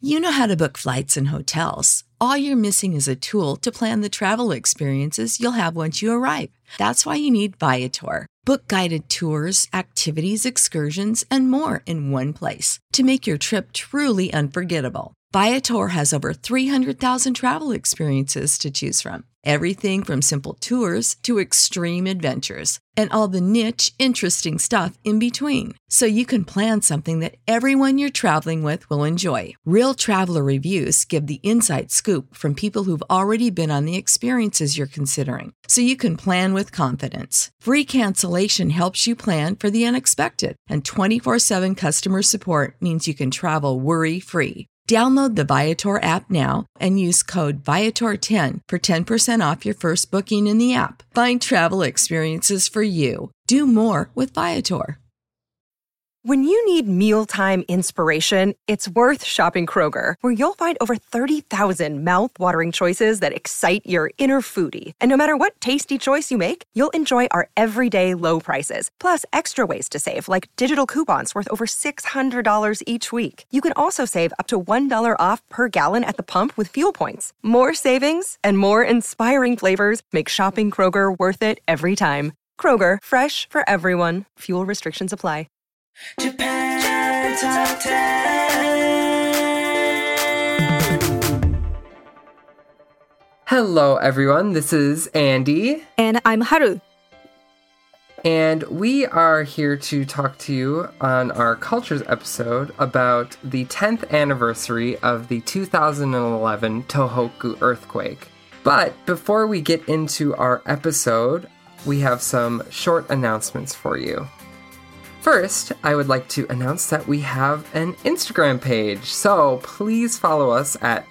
You know how to book flights and hotels. All you're missing is a tool to plan the travel experiences you'll have once you arrive. That's why you need Viator. Book guided tours, activities, excursions, and more in one place to make your trip truly unforgettable. Viator has over 300,000 travel experiences to choose from. Everything from simple tours to extreme adventures and all the niche, interesting stuff in between. So you can plan something that everyone you're traveling with will enjoy. Real traveler reviews give the inside scoop from people who've already been on the experiences you're considering. So you can plan with confidence. Free cancellation helps you plan for the unexpected. And 24/7 customer support means you can travel worry-free. Download the Viator app now and use code Viator10 for 10% off your first booking in the app. Find travel experiences for you. Do more with Viator. When you need mealtime inspiration, it's worth shopping Kroger, where you'll find over 30,000 mouth-watering choices that excite your inner foodie. And no matter what tasty choice you make, you'll enjoy our everyday low prices, plus extra ways to save, like digital coupons worth over $600 each week. You can also save up to $1 off per gallon at the pump with fuel points. More savings and more inspiring flavors make shopping Kroger worth it every time. Kroger, fresh for everyone. Fuel restrictions apply. Japan Top 10. Hello, everyone. This is Andy. And I'm Haru. And we are here to talk to you on our Cultures episode about the 10th anniversary of the 2011 Tohoku earthquake. But before we get into our episode, we have some short announcements for you. First, I would like to announce that we have an Instagram page, so please follow us at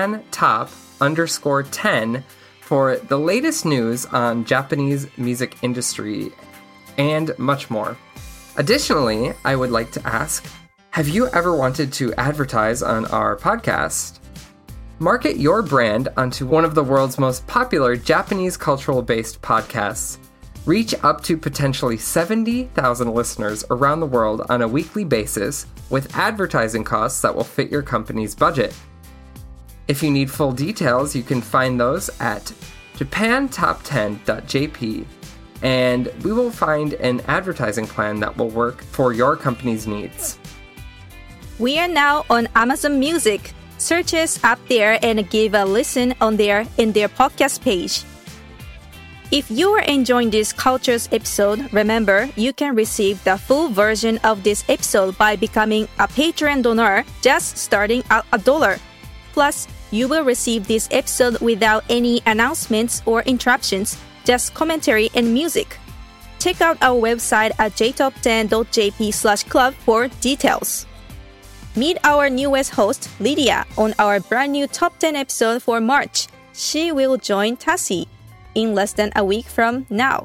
JapanTop_10 for the latest news on Japanese music industry and much more. Additionally, I would like to ask, have you ever wanted to advertise on our podcast? Market your brand onto one of the world's most popular Japanese cultural-based podcasts. Reach up to potentially 70,000 listeners around the world on a weekly basis with advertising costs that will fit your company's budget. If you need full details, you can find those at japantop10.jp, and we will find an advertising plan that will work for your company's needs. We are now on Amazon Music. Search us up there and give a listen on there in their podcast page. If you are enjoying this Cultures episode, remember, you can receive the full version of this episode by becoming a Patreon donor, just starting at $1. Plus, you will receive this episode without any announcements or interruptions, just commentary and music. Check out our website at jtop10.jp/club for details. Meet our newest host, Lydia, on our brand new Top 10 episode for March. She will join Tassie in less than a week from now.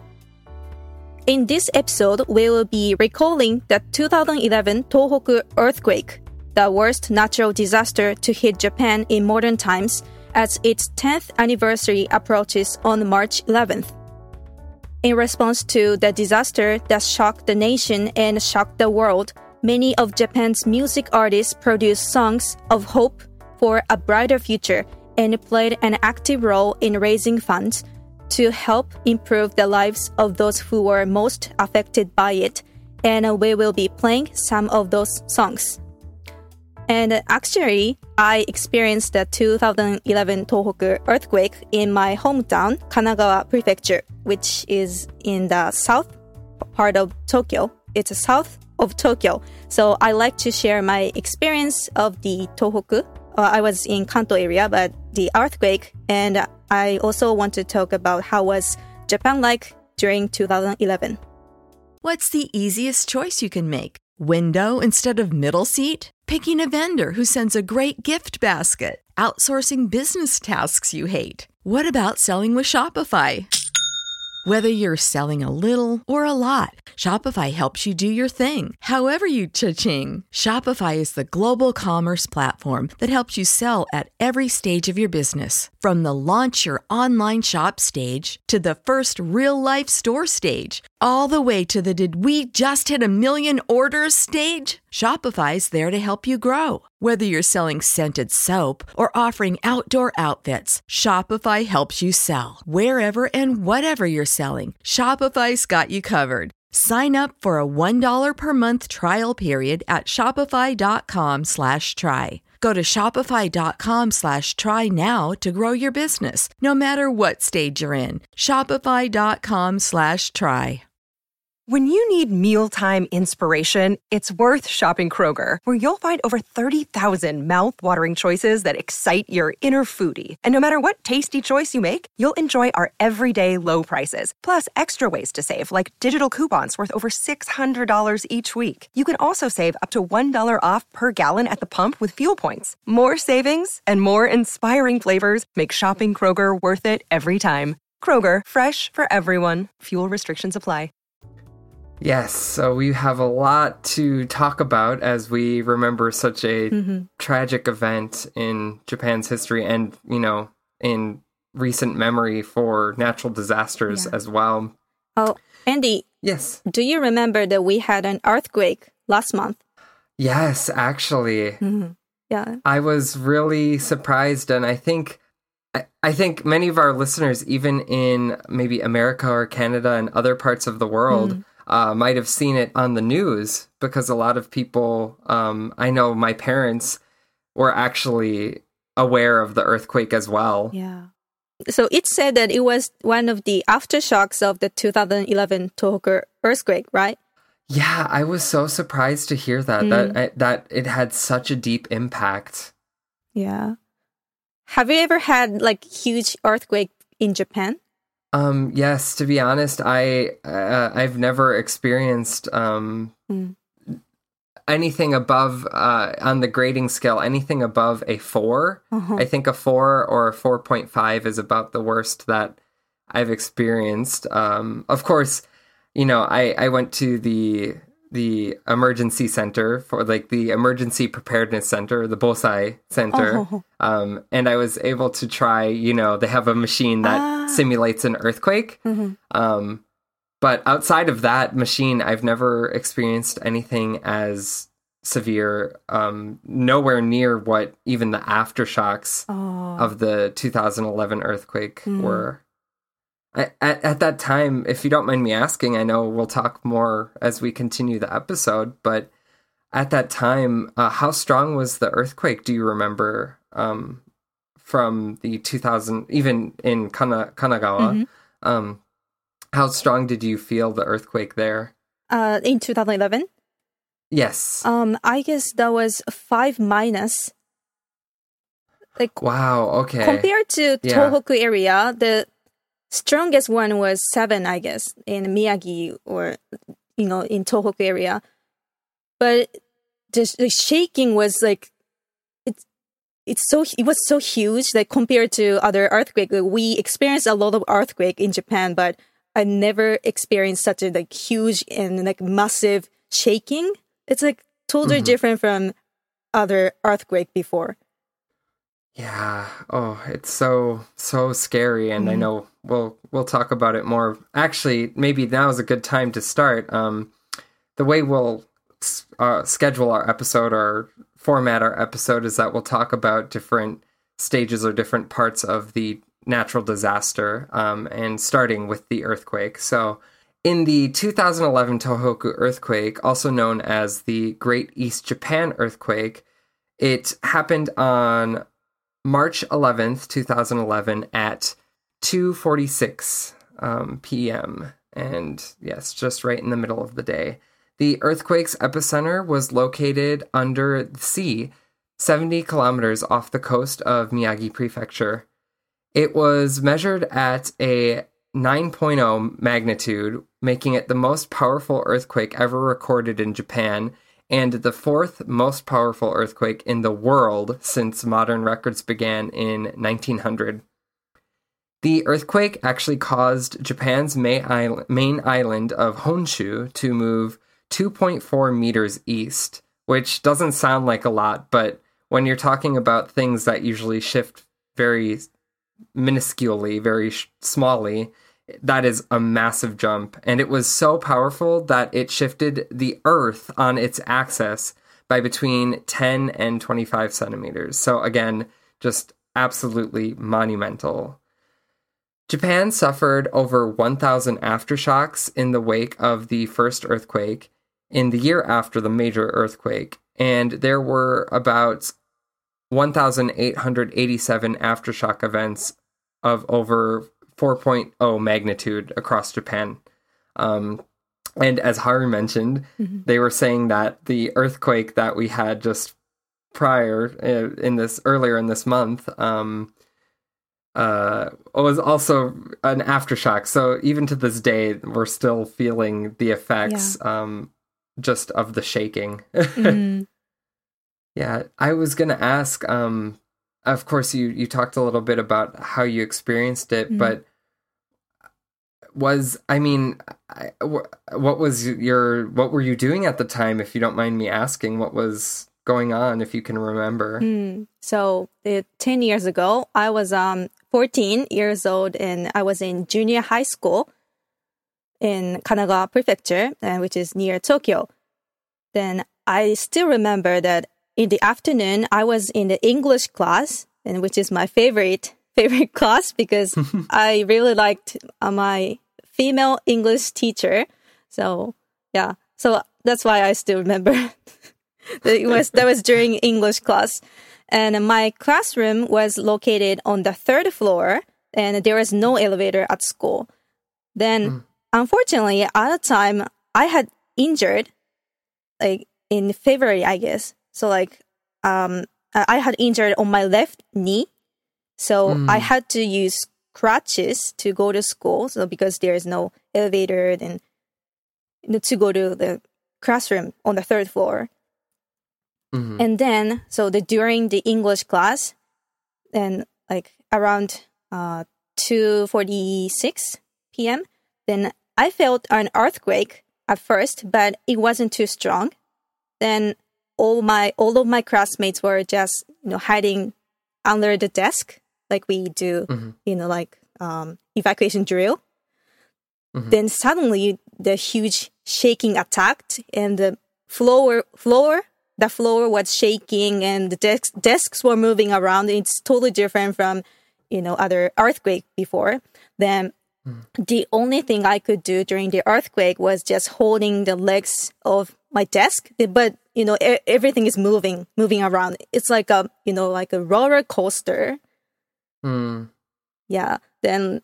In this episode, we will be recalling the 2011 Tohoku earthquake, the worst natural disaster to hit Japan in modern times, as its 10th anniversary approaches on March 11th. In response to the disaster that shocked the nation and shocked the world, many of Japan's music artists produced songs of hope for a brighter future and played an active role in raising funds to help improve the lives of those who were most affected by it, and we will be playing some of those songs. And actually, I experienced the 2011 Tohoku earthquake in my hometown, Kanagawa Prefecture, which is in the south part of Tokyo. It's south of Tokyo. So I like to share my experience of the Tohoku. I was in Kanto area, but the earthquake, and I also want to talk about how was Japan like during 2011. What's the easiest choice you can make? Window instead of middle seat? Picking a vendor who sends a great gift basket? Outsourcing business tasks you hate? What about selling with Shopify? Whether you're selling a little or a lot, Shopify helps you do your thing, however you cha-ching. Shopify is the global commerce platform that helps you sell at every stage of your business. From the launch your online shop stage to the first real-life store stage, all the way to the "did we just hit a million orders" stage, Shopify's there to help you grow. Whether you're selling scented soap or offering outdoor outfits, Shopify helps you sell. Wherever and whatever you're selling, Shopify's got you covered. Sign up for a $1 per month trial period at shopify.com/try. Go to shopify.com/try now to grow your business, no matter what stage you're in. Shopify.com/try. When you need mealtime inspiration, it's worth shopping Kroger, where you'll find over 30,000 mouth-watering choices that excite your inner foodie. And no matter what tasty choice you make, you'll enjoy our everyday low prices, plus extra ways to save, like digital coupons worth over $600 each week. You can also save up to $1 off per gallon at the pump with fuel points. More savings and more inspiring flavors make shopping Kroger worth it every time. Kroger, fresh for everyone. Fuel restrictions apply. Yes, so we have a lot to talk about as we remember such a tragic event in Japan's history and, in recent memory for natural disasters as well. Oh, Andy. Yes. Do you remember that we had an earthquake last month? Yes, actually. Yeah. I was really surprised, and I think many of our listeners, even in maybe America or Canada and other parts of the world, might have seen it on the news, because a lot of people, I know my parents were actually aware of the earthquake as well. Yeah. So it said that it was one of the aftershocks of the 2011 Tohoku earthquake, right? Yeah, I was so surprised to hear that, that it had such a deep impact. Yeah. Have you ever had huge earthquake in Japan? Yes, to be honest, I've never experienced anything above on the grading scale, anything above a 4. I think a 4 or a 4.5 is about the worst that I've experienced. Of course, I went to the emergency center for the emergency preparedness center, the Bosai Center. And I was able to try, they have a machine that simulates an earthquake. But outside of that machine, I've never experienced anything as severe, nowhere near what even the aftershocks of the 2011 earthquake were. At that time, if you don't mind me asking, I know we'll talk more as we continue the episode, but at that time, how strong was the earthquake? Do you remember from the 2000, even in Kanagawa? How strong did you feel the earthquake there? In 2011? Yes. I guess that was 5 minus. Wow, okay. Compared to Tohoku area, the strongest one was 7, I guess, in Miyagi or, in Tohoku area. But the shaking was it was so huge compared to other earthquakes. We experienced a lot of earthquake in Japan, but I never experienced such a huge and massive shaking. It's totally different from other earthquake before. Yeah. Oh, it's so scary, and I know we'll talk about it more. Actually, maybe now is a good time to start. The way we'll schedule our episode or format our episode is that we'll talk about different stages or different parts of the natural disaster, and starting with the earthquake. So, in the 2011 Tohoku earthquake, also known as the Great East Japan earthquake, it happened on March 11th, 2011 at 2:46 p.m. And yes, just right in the middle of the day. The earthquake's epicenter was located under the sea, 70 kilometers off the coast of Miyagi Prefecture. It was measured at a 9.0 magnitude, making it the most powerful earthquake ever recorded in Japan, and the 4th most powerful earthquake in the world since modern records began in 1900. The earthquake actually caused Japan's main island of Honshu to move 2.4 meters east, which doesn't sound like a lot, but when you're talking about things that usually shift very minusculely, very smallly, that is a massive jump. And it was so powerful that it shifted the Earth on its axis by between 10 and 25 centimeters. So again, just absolutely monumental. Japan suffered over 1,000 aftershocks in the wake of the first earthquake in the year after the major earthquake, and there were about 1,887 aftershock events of over 4.0 magnitude across Japan. And as Haru mentioned, they were saying that the earthquake that we had just earlier in this month, was also an aftershock. So even to this day, we're still feeling the effects, just of the shaking. Yeah, I was gonna ask. Of course, you talked a little bit about how you experienced it, but what were you doing at the time? If you don't mind me asking, what was going on, if you can remember? So 10 years ago, I was 14 years old, and I was in junior high school in Kanagawa Prefecture, which is near Tokyo. Then I still remember that in the afternoon, I was in the English class, and which is my favorite class because I really liked my female English teacher. So yeah, so that's why I still remember. That was during English class. And my classroom was located on the third floor, and there was no elevator at school. Then, unfortunately, at the time, I had injured, like in February, I guess. So, like, I had injured on my left knee. So I had to use crutches to go to school. So because there is no elevator, then to go to the classroom on the third floor. And then, during the English class, then like around 2:46 p.m., then I felt an earthquake at first, but it wasn't too strong. Then all of my classmates were just hiding under the desk, like we do, evacuation drill. Then suddenly the huge shaking attacked, and the floor was shaking, and the desks were moving around. It's totally different from, other earthquake before. Then the only thing I could do during the earthquake was just holding the legs of my desk. But, everything is moving around. It's like a roller coaster. Yeah. Then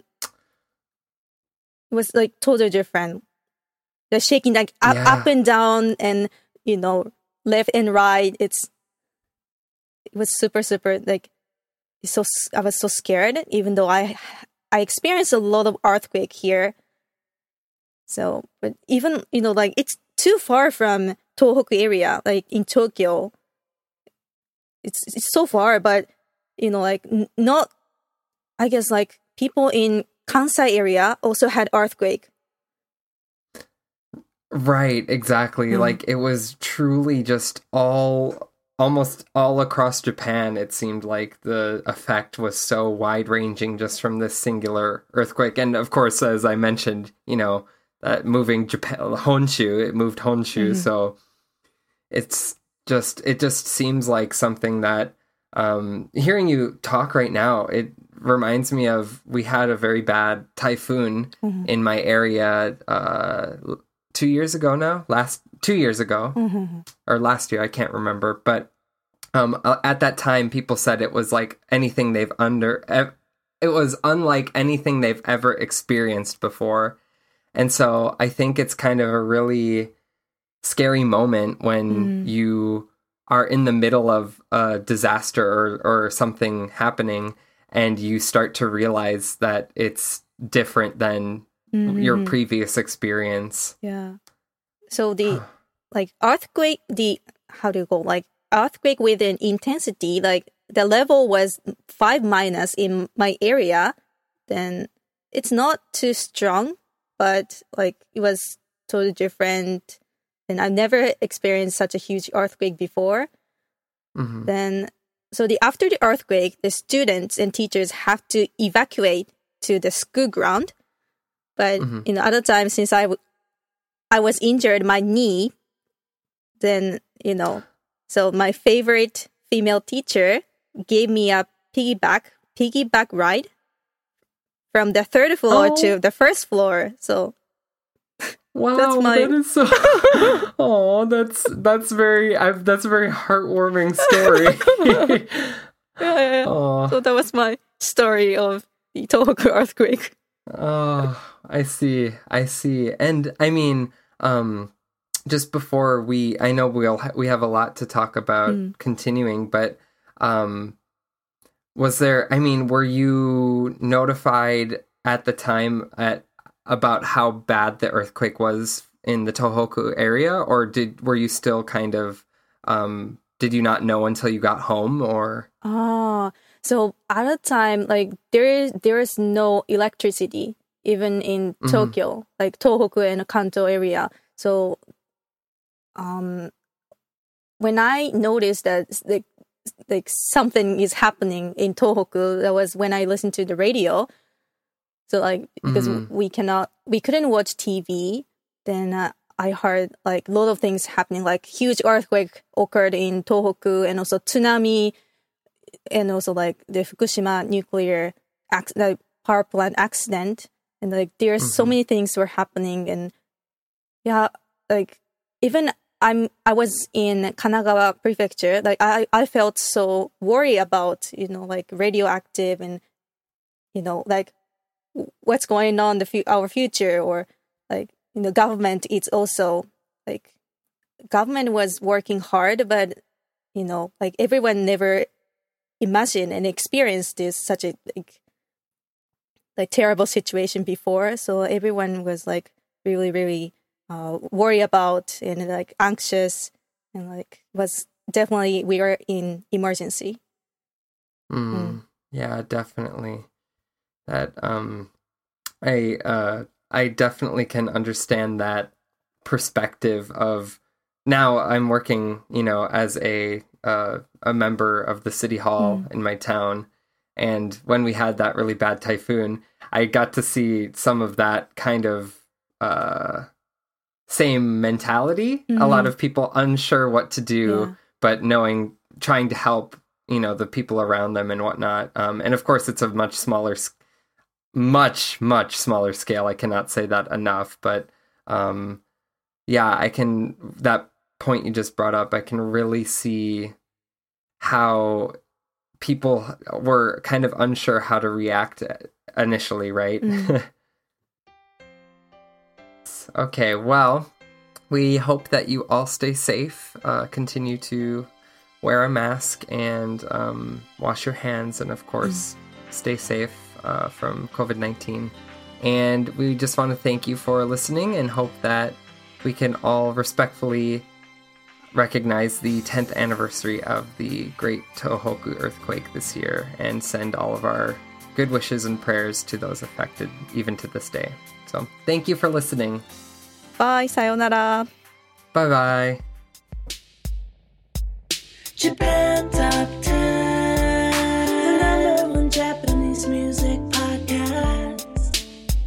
it was like totally different. The shaking like up and down and, left and right. It was super, super like, I was so scared, even though I experienced a lot of earthquake here. So, but even, it's too far from Tohoku area, like in Tokyo. It's so far, but, not, I guess like people in Kansai area also had earthquake. Right, exactly. Like it was truly just almost all across Japan. It seemed like the effect was so wide ranging just from this singular earthquake. And of course, as I mentioned, that moving Japan, Honshu, it moved Honshu. So it just seems like something that, hearing you talk right now, it reminds me of, we had a very bad typhoon in my area, 2 years ago now, 2 years ago, or last year, I can't remember. But at that time, people said it was like anything it was unlike anything they've ever experienced before. And so I think it's kind of a really scary moment when you are in the middle of a disaster or something happening, and you start to realize that it's different than your previous experience. Yeah. So the like earthquake, earthquake with an intensity, like the level was 5- in my area, then it's not too strong, but like it was totally different. And I've never experienced such a huge earthquake before. Then, after the earthquake, the students and teachers have to evacuate to the school ground. But other times since I was injured my knee, then so my favorite female teacher gave me a piggyback ride from the third floor to the first floor. So wow, that is so. that's a very heartwarming story. Yeah. So that was my story of the Tohoku earthquake. Oh, I see. And I mean, just before I know we have a lot to talk about continuing, but were you notified at the time about how bad the earthquake was in the Tohoku area, or were you still kind of, did you not know until you got home, or? So at the time, like there is no electricity even in Tokyo, like Tohoku and Kanto area. So, when I noticed that like something is happening in Tohoku, that was when I listened to the radio. So like because we couldn't watch TV, then I heard like a lot of things happening, like huge earthquake occurred in Tohoku, and also tsunami, and also like the Fukushima nuclear power plant accident, and like there's so many things were happening, and like even I was in Kanagawa prefecture, like I felt so worried about like radioactive and like what's going on our future, or like government. It's also like government was working hard, but like everyone never imagined and experienced this such a like terrible situation before. So everyone was like really, really worried about and like anxious, and like was definitely we were in emergency. Yeah, definitely. That I definitely can understand that perspective of, now I'm working, as a member of the city hall in my town, and when we had that really bad typhoon, I got to see some of that kind of same mentality. A lot of people unsure what to do, but trying to help, the people around them and whatnot. And of course, it's a much smaller, much smaller scale. I cannot say that enough, but that point you just brought up, I can really see how people were kind of unsure how to react initially, right? Okay, well, we hope that you all stay safe, continue to wear a mask, and wash your hands, and of course, stay safe from COVID-19. And we just want to thank you for listening, and hope that we can all respectfully recognize the 10th anniversary of the Great Tohoku earthquake this year, and send all of our good wishes and prayers to those affected, even to this day. So, thank you for listening. Bye, sayonara. Bye-bye. Japan Top 10, the number one Japanese music podcast.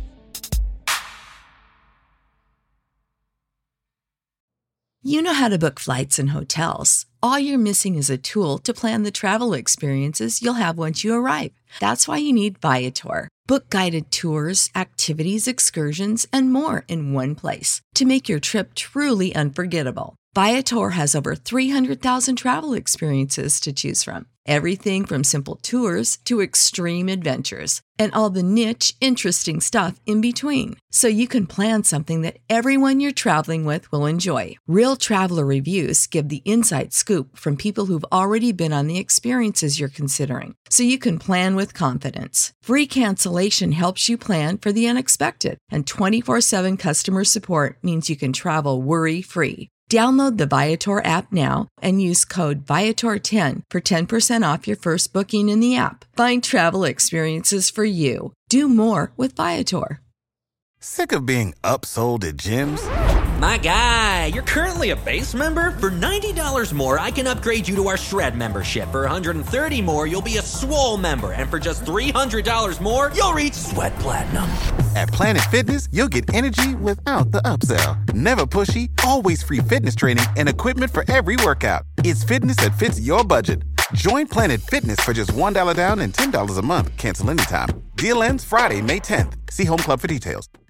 You know how to book flights and hotels. All you're missing is a tool to plan the travel experiences you'll have once you arrive. That's why you need Viator. Book guided tours, activities, excursions, and more in one place to make your trip truly unforgettable. Viator has over 300,000 travel experiences to choose from. Everything from simple tours to extreme adventures, and all the niche, interesting stuff in between. So you can plan something that everyone you're traveling with will enjoy. Real traveler reviews give the inside scoop from people who've already been on the experiences you're considering. So you can plan with confidence. Free cancellation helps you plan for the unexpected. And 24/7 customer support means you can travel worry-free. Download the Viator app now and use code Viator10 for 10% off your first booking in the app. Find travel experiences for you. Do more with Viator. Sick of being upsold at gyms? My guy, you're currently a base member. For $90 more, I can upgrade you to our Shred membership. For $130 more, you'll be a Swole member. And for just $300 more, you'll reach Sweat Platinum. At Planet Fitness, you'll get energy without the upsell. Never pushy, always free fitness training and equipment for every workout. It's fitness that fits your budget. Join Planet Fitness for just $1 down and $10 a month. Cancel anytime. Deal ends Friday, May 10th. See Home Club for details.